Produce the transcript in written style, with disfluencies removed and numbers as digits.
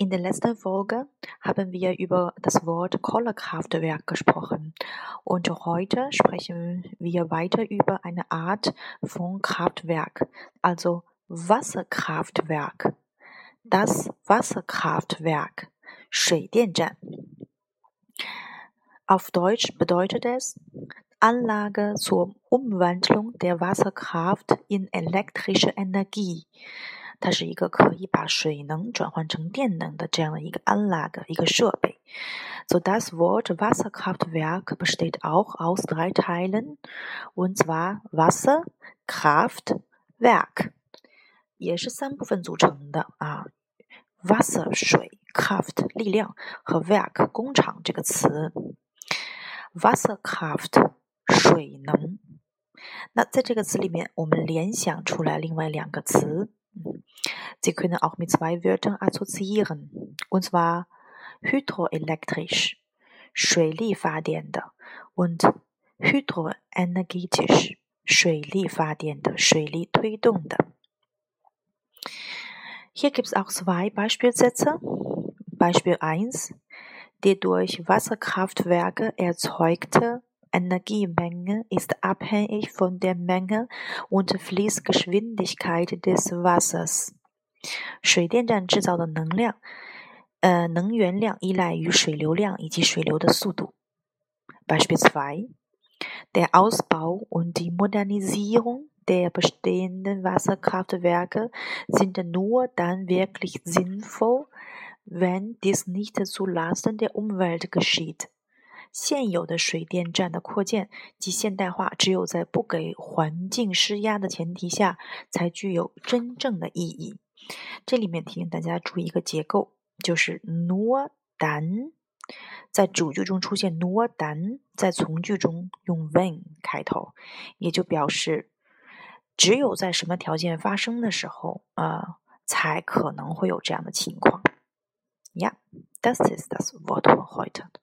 In der letzten Folge haben wir über das Wort Kohlekraftwerk gesprochen und heute sprechen wir weiter über eine Art von Kraftwerk, also Wasserkraftwerk. Das Wasserkraftwerk, 水电站. Auf Deutsch bedeutet es Anlage zur Umwandlung der Wasserkraft in elektrische Energie. 它是一个可以把水能转换成电能的这样的一个Anlage，一个设备。So das Wort Wasserkraftwerk besteht auch aus 3 Teilen, und zwar Wasser, Kraft, Werk， 也是3部分组成的啊。Wasser 水 Kraft 力量和 Werk 工厂这个词。Wasserkraft 水能。那在这个词里面我们联想出来另外2个词。Sie können auch mit 2 Wörtern assoziieren, und zwar hydroelektrisch, 水力发电的 und hydroenergetisch, 水力发电的，水力推动的。Hier gibt es auch 2 Beispielsätze. Beispiel 1. Die durch Wasserkraftwerke erzeugte Energiemenge ist abhängig von der Menge und Fließgeschwindigkeit des Wassers. 水电站制造的能源量依赖于水流量以及水流的速度。Beispiel 2. Der Ausbau und die Modernisierung der bestehenden Wasserkraftwerke sind nur dann wirklich sinnvoll, wenn dies nicht zu Lasten der Umwelt geschieht. 现有的水电站的扩建及现代化只有在不给环境施压的前提下才具有真正的意义。这里面提醒大家注意一个结构，就是 nur dann， 在主句中出现 nur dann， 在从句中用 wenn 开头，也就表示只有在什么条件发生的时候才可能会有这样的情况。Ja, das ist das Wort für heute.